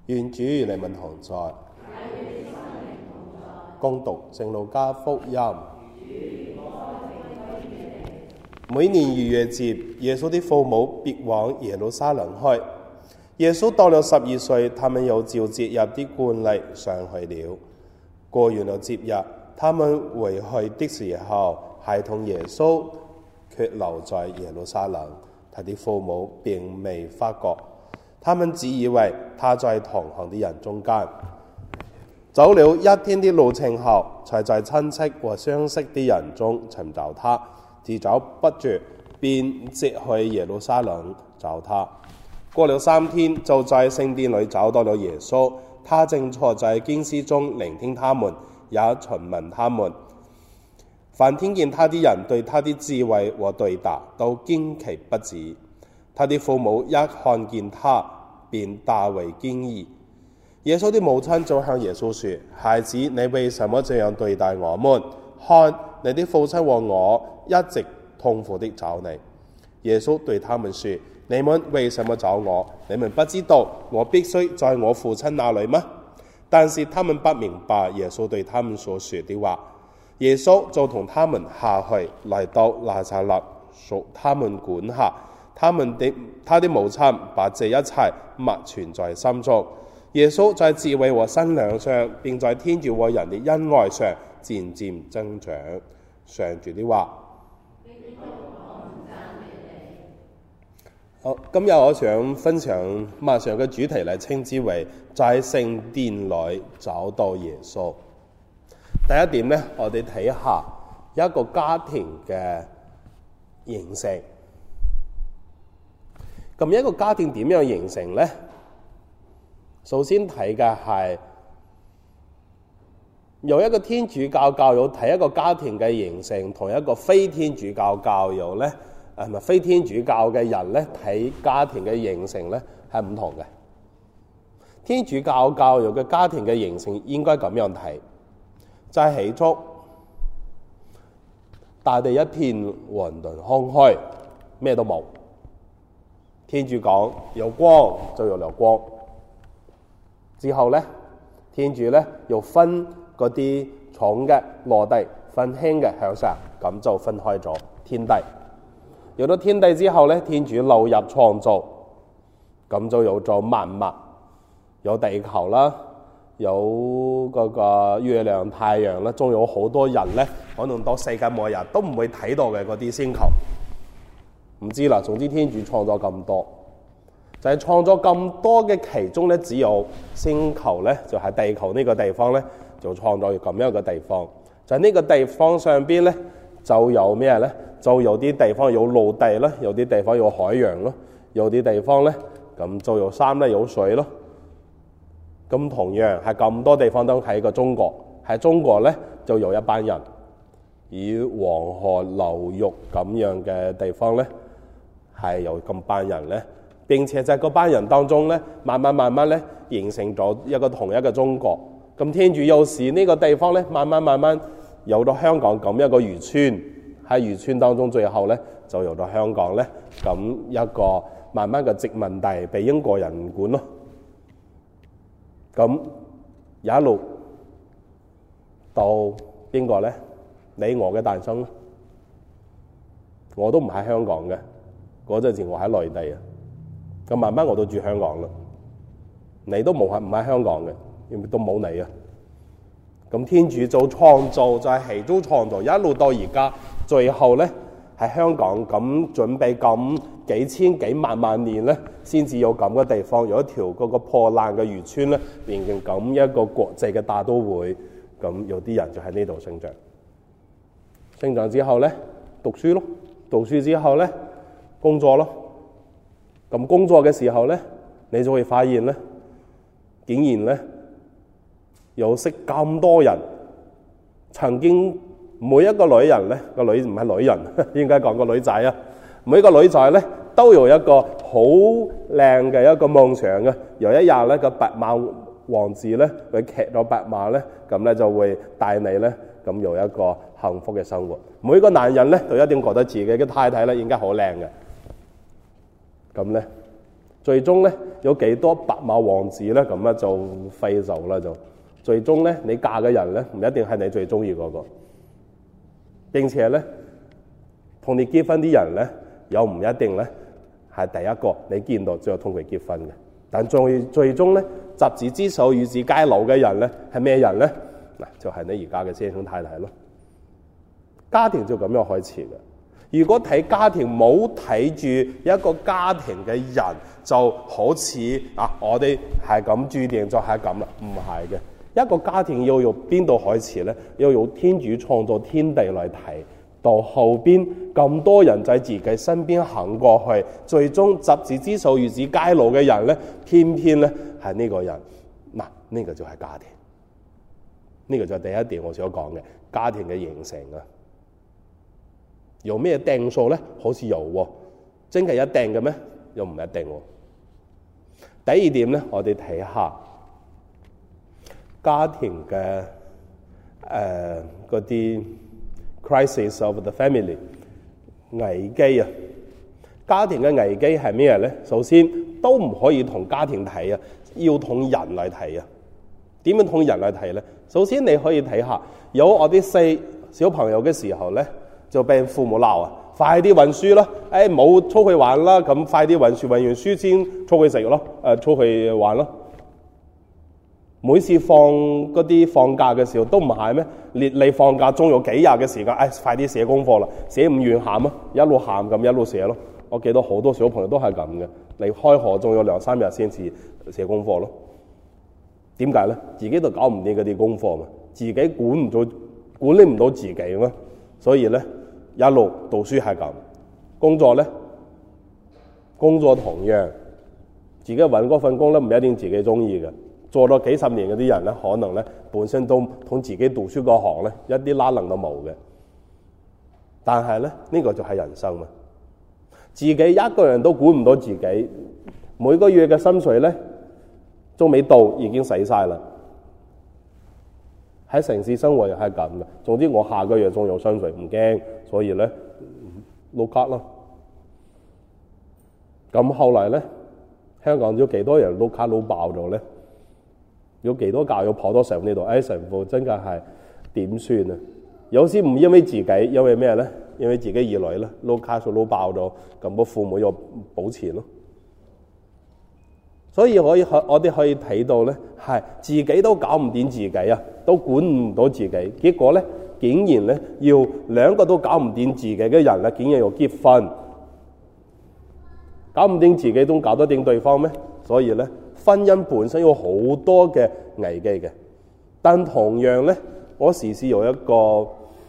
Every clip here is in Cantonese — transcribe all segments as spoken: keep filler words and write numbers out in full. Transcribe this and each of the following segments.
願主與你們同在。恭讀聖路加福音。每年逾越節，耶穌的父母必往耶路撒冷去。耶穌到了十二歲，他們又照節日的慣例上去了。過完了節日，他們回去的時候，孩童耶穌卻留在耶路撒冷，他的父母並未發覺，他們只以為他在同行的人中間。走了一天的路程後，才在親戚和相識的人中尋找他，自找不着，便直去耶路撒冷找他。過了三天，就在聖殿裏找到了耶穌，他正坐在經師中聆聽他們，也詢問他們。凡聽見他的人對他的智慧和對答都驚奇不止。他的父母一看見他，便大為驚異。耶穌的母親就向耶穌說：孩子，你為什麼這樣對待我們？看，你的父親和我一直痛苦地找你。耶穌對他們說：你們為什麼找我？你們不知道我必須在我父親那裡嗎？但是他們不明白耶穌對他們所說的話。耶穌就同他們下去，來到拿撒勒，屬他們管轄。他們的他的母親把這一切默存在心中。耶穌在智慧和身量上，並在天主和人的恩愛上漸漸增長。上主的話。好，今日我想分享馬上嘅主題嚟，稱之為在聖殿裏找到耶穌。第一點呢，我哋睇下一個家庭嘅形成。咁一個家庭點樣形成呢？首先睇嘅係由一個天主教教友睇一個家庭嘅形成，同一個非天主教教友咧，係咪非天主教嘅人咧睇家庭嘅形成咧係唔同嘅。天主教教友嘅家庭嘅形成應該咁樣睇，就係起初大地一片混沌空虛，咩都冇。天主講有光就有了光。之後咧，天主咧又分嗰啲重嘅落地，分輕嘅向上，咁就分開咗天地。有咗天地之後咧，天主流入創造，咁就有咗萬物，有地球啦，有嗰個月亮、太陽啦，仲有好多人咧，可能到世界末日都唔會睇到嘅嗰啲星球，唔知啦。總之天主創造咁多。就係創作咁多嘅其中咧，只有星球咧，就係、是、地球呢個地方咧，就創造咁樣嘅地方。就係、是、呢個地方上邊咧，就有咩咧？就有啲地方有陸地啦，有啲地方有海洋咯，有啲地方咧，咁就有山咧，有水咯。咁同樣係咁多地方都喺個中國，喺中國咧就有一班人，以黃河流域咁樣嘅地方咧，係有咁班人咧。並且就係嗰班人當中咧，慢慢慢慢咧形成咗一個同一個中國。咁天主又使呢個地方咧，慢慢慢慢有咗香港咁一個漁村，喺漁村當中，最後咧就有咗香港咧咁一個慢慢嘅殖民地被英國人管咯。咁有一路到邊個咧？你我嘅誕生，我都唔喺香港嘅，嗰陣時我喺內地啊。咁慢慢我都住香港啦，你都冇喺唔喺香港嘅，因為都冇你啊。咁天主做創造就係起初創造，一路到而家，最後咧喺香港咁準備咁幾千幾萬萬年咧，先至有咁嘅地方，有一條嗰個破爛嘅漁村咧，變成咁一個國際嘅大都會。咁有啲人就喺呢度生長，生長之後咧讀書咯，讀書之後咧工作咯。咁工作嘅時候咧，你就會發現咧，竟然咧有識咁多人。曾經每一個女人咧，個女唔係女人，應該講個女仔啊。每一個女仔咧都有一個好靚嘅一個夢想嘅。有一日咧，個白馬王子咧，佢騎咗白馬咧，咁咧就會帶你咧，咁有一個幸福嘅生活。每個男人咧都一定覺得自己嘅太太咧應該好靚嘅。咁咧， 最終咧有幾多白馬王子咧咁咧就廢走啦就。最終咧你嫁嘅人咧唔一定係你最中意嗰個，並且咧同你結婚啲人咧又唔一定咧係第一個你見到最後同佢結婚嘅。但最最終咧執子之手與子偕老嘅人咧係咩人咧？嗱，就係、是、你而家嘅先生太太咯。家庭就咁樣開始嘅。如果睇家庭冇睇住一個家庭嘅人，就好似啊我哋係咁注定就係咁啦，唔係嘅。一個家庭要由邊度開始咧？要由天主創造天地嚟睇，到後邊咁多人在自己身邊行過去，最終執子之手與子偕老嘅人咧，偏偏咧係呢個人。嗱，呢個就係家庭。呢個就係第一點我想講嘅家庭嘅形成啊。有咩定數咧？好似有喎，真係一定嘅咩？又唔一定喎。第二點咧，我哋睇下家庭嘅誒嗰啲 crisis of the family 危機啊。家庭嘅危機係咩咧？首先都唔可以同家庭睇啊，要同人嚟睇啊。點樣同人嚟睇咧？首先你可以睇下，有我啲細小朋友嘅時候咧，就俾父母鬧啊！快啲溫書啦！誒，冇出去玩啦，咁快啲溫書，溫完書先出去食咯，誒、呃，出去玩咯。每次放嗰啲放假嘅時候都唔係咩？你你放假仲有幾日嘅時間？誒、哎，快啲寫功課啦！寫唔完喊啊，一路喊咁一路寫咯。我記得好多小朋友都係咁嘅。你開學仲有兩三日先至寫功課咯。點解咧？自己都搞唔掂嗰啲功課嘛，自己管唔到，管理唔到自己嘛，所以咧一路讀書係咁。工作咧，工作同樣，自己搵嗰份工咧唔一定自己中意嘅。做咗幾十年嗰啲人咧，可能咧本身都同自己讀書嗰行咧一啲拉能都冇嘅。但係咧呢、呢個就係人生嘛，自己一個人都管唔到自己，每個月嘅薪水咧仲未到已經使晒啦。喺城市生活又係咁嘅。總之我下個月仲有薪水唔驚，所以咧碌卡咯。咁後來咧，香港有幾多人碌卡碌爆咗咧？有幾多教友跑到上呢度？哎，神父真嘅係點算啊？有時唔因為自己，因為咩咧？因為自己兒女咧碌卡數碌爆咗，咁個父母又補錢咯。所以可以我哋可以睇到咧，係自己都搞唔掂自己啊，都管唔到自己。結果咧，竟然咧要兩個都搞唔掂自己嘅人咧，竟然要結婚，搞唔掂自己都搞得掂對方咩？所以咧，婚姻本身有好多嘅危機嘅。但同樣咧，我時時有一個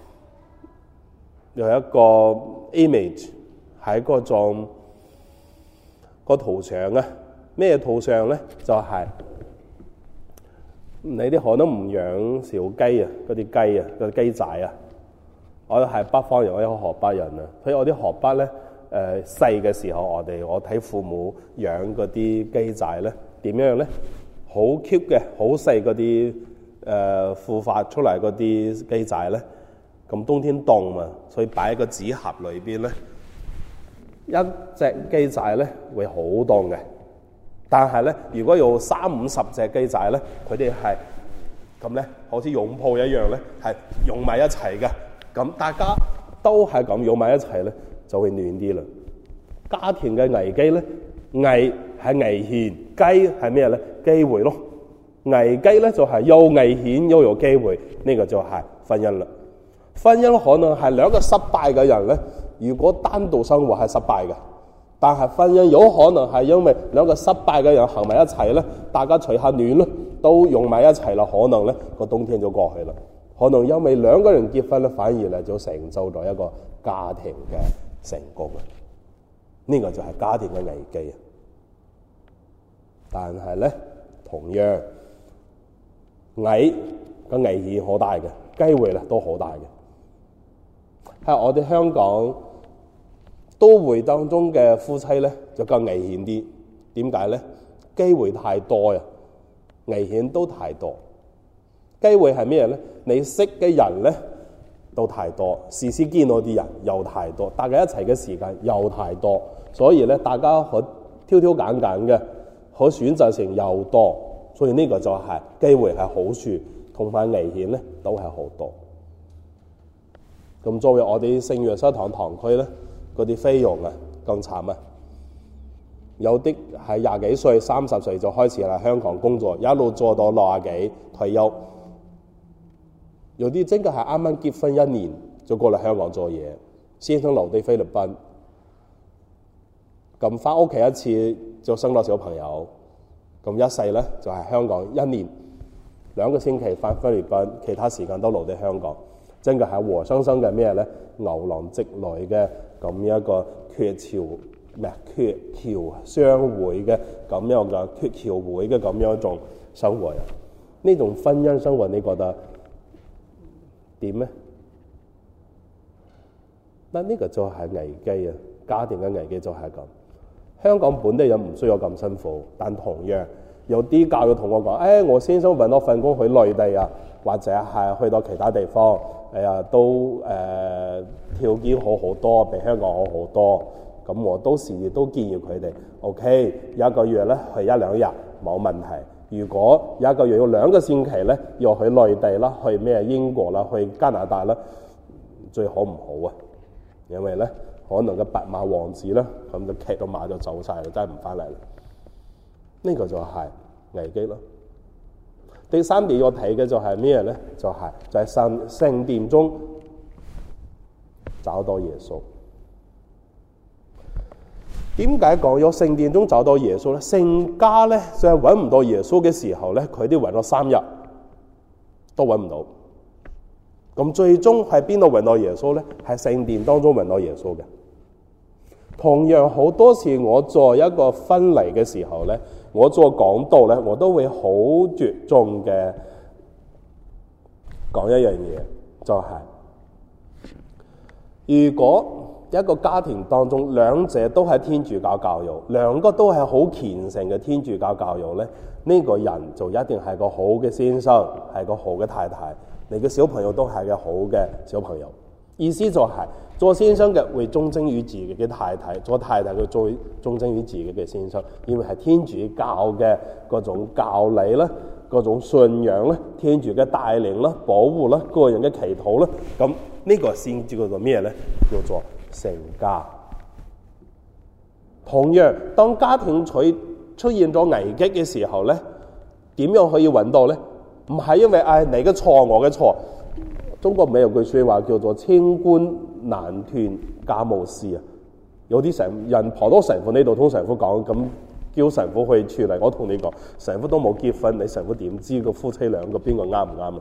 有一個 image 喺嗰種個圖像啊。咩圖像咧？就係、是、你啲可能唔養小雞啊，嗰啲雞啊，嗰啲雞仔啊。我係北方人，我係河北人啊。所以我啲河北咧，誒細嘅時候，我哋我睇父母養嗰啲雞仔咧，點樣咧？好 cute 嘅，好細嗰啲誒孵化出嚟嗰啲雞仔咧。咁冬天凍嘛，所以擺喺個紙盒裏邊咧，一隻雞仔咧會好凍嘅。但係咧，如果有三五十隻雞仔咧，佢哋係咁咧，好似擁抱一樣咧，係擁埋一齊嘅。咁大家都係咁擁埋一齊咧，就會暖啲啦。家庭嘅危機咧，危係危險，機係咩咧？機會咯。危機咧就係又危險又有機會，呢、這個就係婚姻啦。婚姻可能係兩個失敗嘅人咧，如果單獨生活係失敗嘅。但係婚姻有可能係因為兩個失敗嘅人行埋一齊咧，大家取下暖咯，都用埋一齊啦，可能咧個冬天就過去啦。可能因為兩個人結婚咧，反而咧就成就咗一個家庭嘅成功啊！呢、這個就係家庭嘅危機啊！但係咧，同樣危嘅危險好大嘅，機會咧都好大嘅。喺我哋香港都會當中嘅夫妻咧就更危險啲，點解咧？機會太多呀，危險都太多。機會係咩咧？你識嘅人咧都太多，時時見到啲人又太多，大家一齊嘅時間又太多，所以咧大家可挑挑挑揀揀嘅，可選擇性又多，所以呢個就係機會係好處，同埋危險咧都係好多。咁作為我哋聖約瑟堂堂區咧，嗰啲費用啊更慘啊！有啲係廿幾歲、三十歲就開始嚟香港工作，一路做到六十幾退休。有啲真嘅係啱啱結婚一年就過嚟香港做嘢，先生留低菲律賓，咁翻屋企一次就生咗小朋友，咁一世咧就係、是、香港一年兩個星期翻菲律賓，其他時間都留低香港。真嘅係活生生嘅咩咧？牛郎織女嘅咁一個鵲橋咩鵲橋相會嘅咁樣嘅鵲橋會嘅咁樣一種生活啊！呢種婚姻生活你覺得點咧？嗱，呢個就係危機啊！家庭嘅危機就係咁。香港本地人唔需要咁辛苦，但同樣有啲教育同我講：，誒、哎，我先生揾到份工去內地啊，或者係去到其他地方。哎呀，都誒、呃、條件好好多，比香港好好多。咁我都時亦都建議佢哋 ，OK， 一個月咧去一兩日冇問題。如果一個月要兩個星期咧，要去內地啦，去咩英國啦，去加拿大啦，最好唔好啊？因為咧，可能個白馬王子咧，咁就騎到馬就走晒啦，真係唔翻嚟啦。呢、這個就係危機咯。第三點要睇嘅就係咩咧？就係、是、就係聖聖殿中找到耶穌。點解講有聖殿中找到耶穌咧？聖家咧就係揾唔到耶穌嘅時候咧，佢哋揾咗三日都揾唔到。咁最終喺邊度揾到耶穌咧？喺聖殿當中揾到耶穌嘅。同樣好多次我做一個婚禮嘅時候咧，我做講道咧，我都會好着重嘅講一樣嘢，就係、是、如果一個家庭當中兩者都係天主教教育，兩個都係好虔誠嘅天主教教育咧，呢、這個人就一定係個好嘅先生，係個好嘅太太，你嘅小朋友都係個好嘅小朋友。意思就係、是、做先生嘅會忠貞於自己嘅太太，做太太佢做忠貞於自己嘅先生，因為係天主教嘅嗰種教理啦，嗰種信仰咧，天主嘅帶領啦、保護啦、個人嘅祈禱啦，咁呢個先叫做咩咧？叫做聖家。同樣，當家庭出出現咗危機嘅時候咧，點樣可以揾到咧？唔係因為唉、哎、你嘅錯，我嘅錯。中國咪有句說話叫做清官難斷家務事啊！有啲神人婆多神父呢度同神父講，咁叫神父去處理。我同你講，神父都冇結婚，你神父點知個夫妻兩個邊個啱唔啱啊？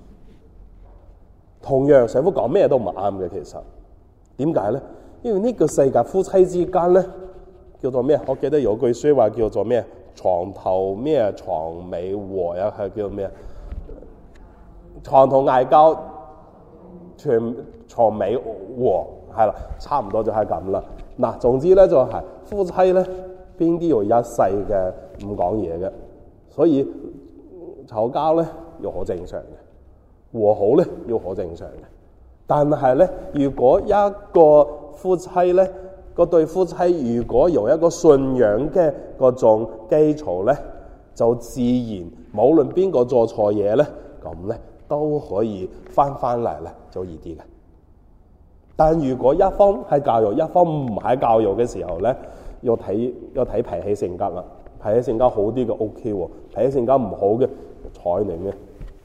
同樣神父講咩都唔啱嘅，其實點解咧？因為呢個世界夫妻之間咧叫做咩？我記得有句說話叫做咩？床頭咩床尾和呀，係叫咩？床頭嗌交，全床尾和，係啦，差唔多就係咁啦。嗱，總之咧就係、是、夫妻咧邊啲要一世嘅唔講嘢嘅，所以吵交咧要好正常嘅，和好咧要好正常嘅。但係咧，如果一個夫妻咧，嗰對夫妻如果有一個信仰嘅嗰種基礎咧，就自然無論邊個做錯嘢咧，咁咧都可以翻翻嚟咧，就易啲嘅。但如果一方係教育，一方唔係教育嘅時候咧，要睇要睇脾氣性格啦。脾氣性格好啲嘅 O K 喎，脾氣性格唔好嘅睬你咩？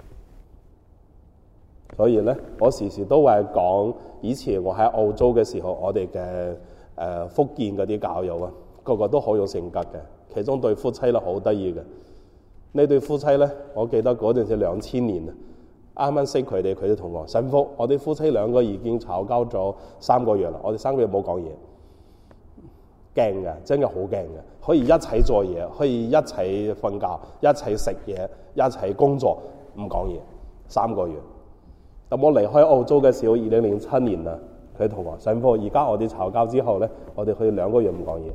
所以咧，我時時都係講，以前我喺澳洲嘅時候，我哋嘅誒福建嗰啲教友啊，個個都好有性格嘅。其中對夫妻咧好得意嘅，呢對夫妻咧，我記得嗰陣時兩千年啊，啱啱識佢哋，佢哋同我神父，我哋夫妻兩個已經吵交咗三個月啦，我哋三個月冇講嘢，驚嘅，真係好驚嘅，可以一齊做嘢，可以一齊瞓覺，一齊食嘢，一齊工作，唔講嘢，三個月。咁我離開澳洲嘅時候，二零零七年啦，佢同我神父，而家我哋吵交之後咧，我哋可以兩個月唔講嘢。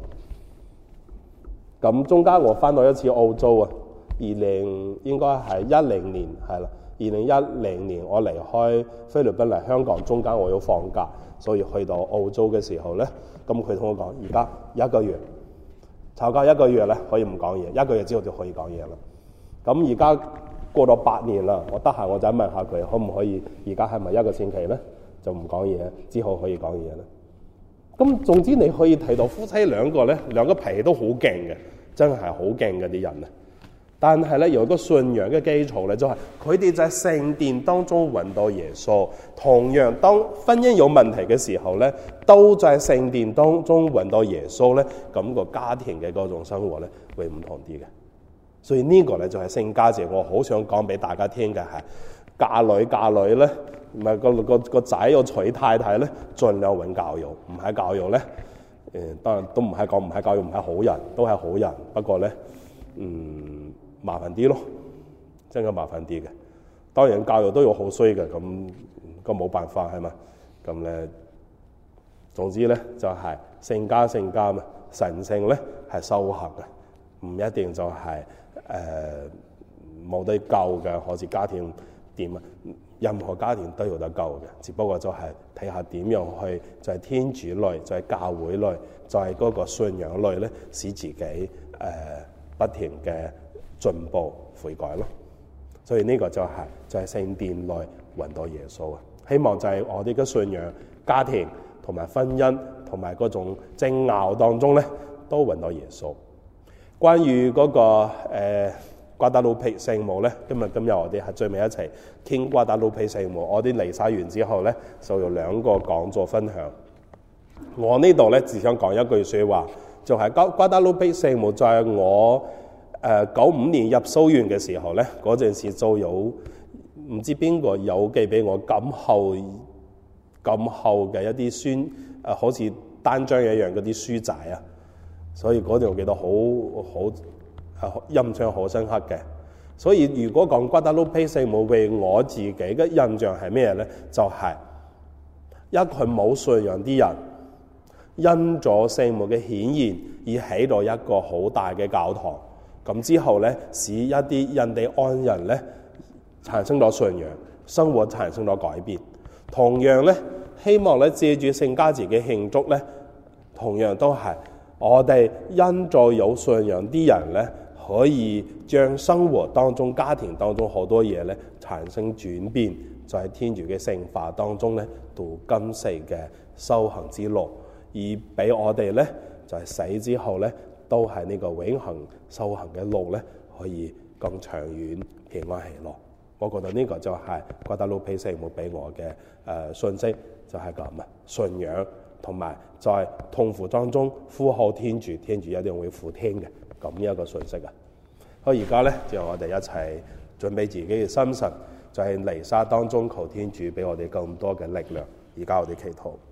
咁中間我翻到一次澳洲啊，二零應該係一零年係啦，二零一零年我離開菲律賓嚟香港，中間我要放假，所以去到澳洲嘅時候咧，咁佢同我講，而家一個月嘈交一個月咧可以唔講嘢，一個月之後就可以講嘢啦。咁而家過咗八年啦，我得閒我就問下佢可唔可以，而家係咪一個星期咧就唔講嘢，之後可以講嘢咧？咁總之你可以睇到夫妻兩個咧，兩個脾氣都好勁嘅，真係好勁嘅啲人啊！但係咧有一個信仰嘅基礎咧，就係佢哋就喺聖殿當中揾到耶穌。同樣當婚姻有問題嘅時候咧，都在聖殿當中揾到耶穌咧，咁個家庭嘅嗰種生活咧會唔同啲嘅。所以呢個咧就係聖家節，我好想講俾大家聽嘅係嫁女嫁女咧，唔係個個個仔要娶太太咧，盡量揾教育，唔係教育咧，誒、呃、當然都唔係講唔係教育，唔係好人，都係好人，不過咧，嗯。麻煩啲咯，真係麻煩啲嘅。當然教育都有好衰嘅，咁咁冇辦法係嘛？咁咧，總之咧就係、是、聖家聖家嘛，神聖咧係修行嘅，唔一定就係誒冇得救嘅。好似家庭點啊，任何家庭都有得救嘅，只不過就係睇下點樣去，就係、是、天主內，就係、是、教會內，就係、是、嗰個信仰內咧，使自己誒、呃、不停嘅進步悔改咯，所以呢個就係、是、就係、是、聖殿內揾到耶穌啊！希望就係我哋嘅信仰、家庭同埋婚姻同埋嗰種爭拗當中咧，都揾到耶穌。關於嗰、那個誒瓜達魯皮聖母咧，今日今日我哋係最尾一齊傾瓜達魯皮聖母。我哋離晒完之後咧，就有兩個講座分享。我呢度咧只想講一句説話，就係、是、瓜瓜達魯皮聖母就係我。誒九五年入修院嘅時候咧，嗰陣時就有唔知邊個有寄俾我咁厚咁厚嘅一啲書，誒、呃、好似單張一樣嗰啲書仔啊，所以嗰陣我記得好好誒印象好深刻嘅。所以如果講瓜達魯皮聖母為我自己嘅印象係咩咧？就係、是、一群冇信仰啲人因咗聖母嘅顯現而起到一個好大嘅教堂。咁之後咧，使一啲印第安人咧產生咗信仰，生活產生咗改變。同樣咧，希望咧借住聖家節嘅慶祝咧，同樣都係我哋因咗有信仰啲人咧，可以將生活當中、家庭當中好多嘢咧產生轉變，就喺天主嘅聖化當中咧，度今世嘅修行之路，而俾我哋咧就係、是、死之後咧。都係呢個永恆修行嘅路咧，可以更長遠平安喜樂。我覺得呢個就係瓜達魯皮聖母俾我嘅誒、呃、信息，就係咁啊，信仰同埋在痛苦當中呼號天主，天主一定會俯聽嘅咁一個信息啊。好，而家咧就我哋一齊準備自己嘅心神，就係、是、彌撒當中求天主俾我哋更多嘅力量。而家我哋祈禱。